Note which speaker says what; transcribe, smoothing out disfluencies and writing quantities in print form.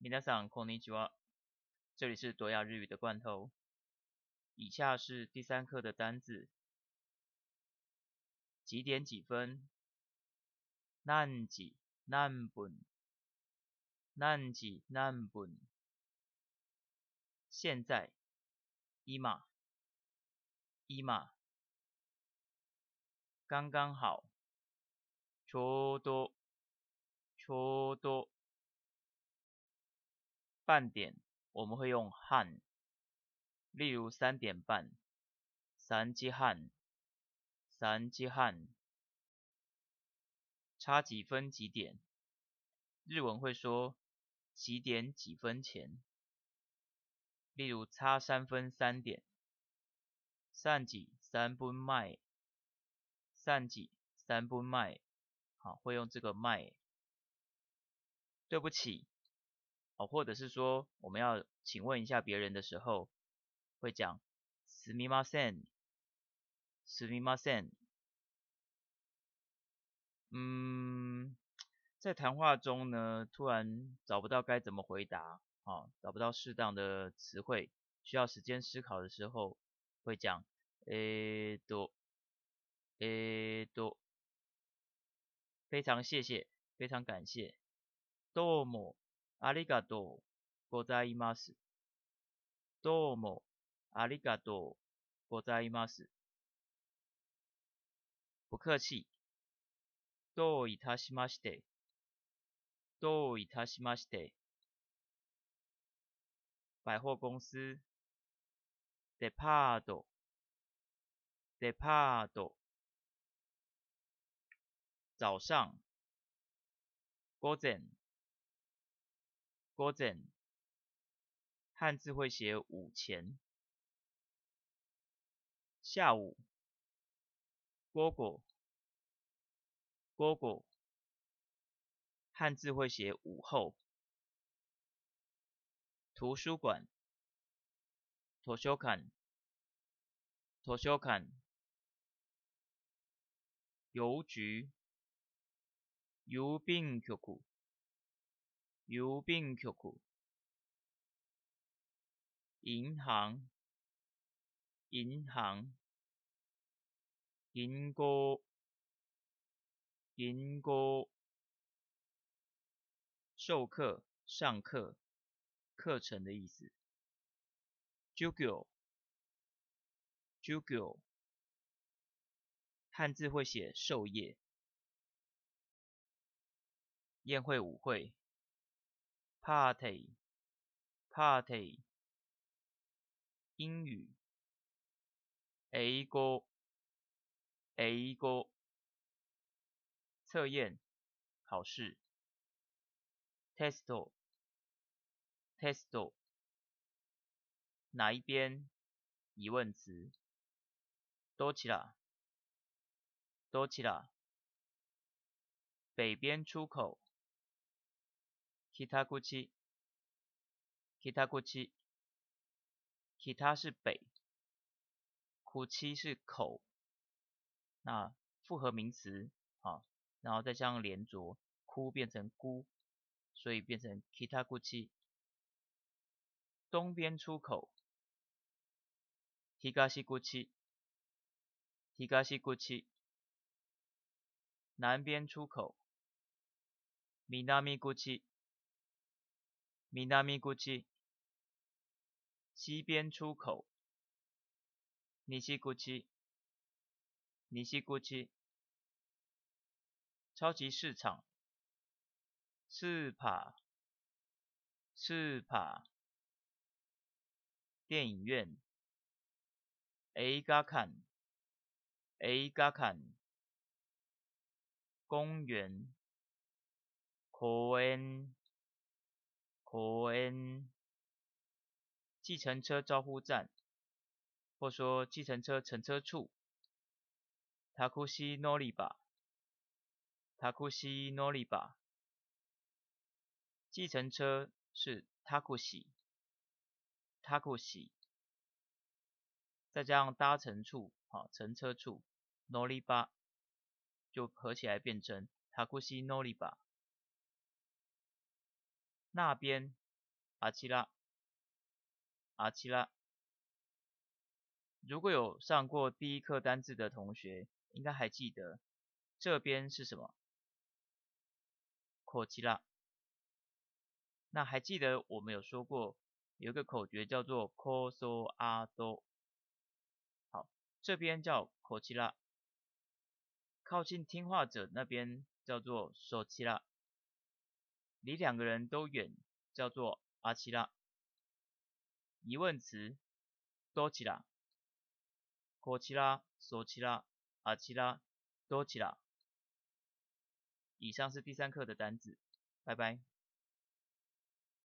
Speaker 1: 皆さんこんにちは，这里是多亚日语的罐头。以下是第3课的单字。几点几分？何時何分？何時何分？现在，今、今。刚刚好，ちょうど、ちょうど。半点我们会用半，例如3点半，3時半，3時半。差几分几点？日文会说几点几分前，例如差3分3点，3時3分前，3時3分前，好，会用这个前。对不起，或者是说我们要请问一下别人的时候，会讲すみません，すみません。在谈话中呢，突然找不到该怎么回答，找不到适当的词汇，需要时间思考的时候，会讲非常谢谢，非常感谢。どうもありがとうございます。どうもありがとうございます。不客气。どういたしまして。どういたしまして。百货公司。デパート。デパート。早上。午前。午前。汉字会写午前。下午。午後。午後。汉字会写午后。图书馆。図書館。図書館。邮局。郵便局。郵便局。银行。銀行。銀行。銀行。授课、上课、课程的意思。授業。授業。汉字会写授业。宴会舞会。party。party。英语。英語。英語。测验、考试。テスト。テスト。哪一边？疑问词。どちら。どちら。北边出口。北口。北口。北是北，口是口，那复合名词，然后再加上连着，哭变成姑，所以变成北口。东边出口。東口。東口。南边出口。南口。南口。西边出口。西口。西口。超级市场。スーパー。スーパー。电影院。映画館。映画館。公園。公園。公園。计程车招呼站，或说计程车乘车处。タクシー乗り場。タクシー乗り場。计程车是タクシー。タクシー。再加上搭乘处，乘车处，乗り場就合起来变成タクシー乗り場。那边あちら、あちら。如果有上过第一课单字的同学，应该还记得这边是什么？こちら。那还记得我们有说过有一个口诀叫做 koso a do。好，这边叫こちら，靠近听话者那边叫做そちら，离两个人都远叫做あちら。疑问词どちら、こちら、そちら、あちら、どちら。以上是第3课的单字，拜拜。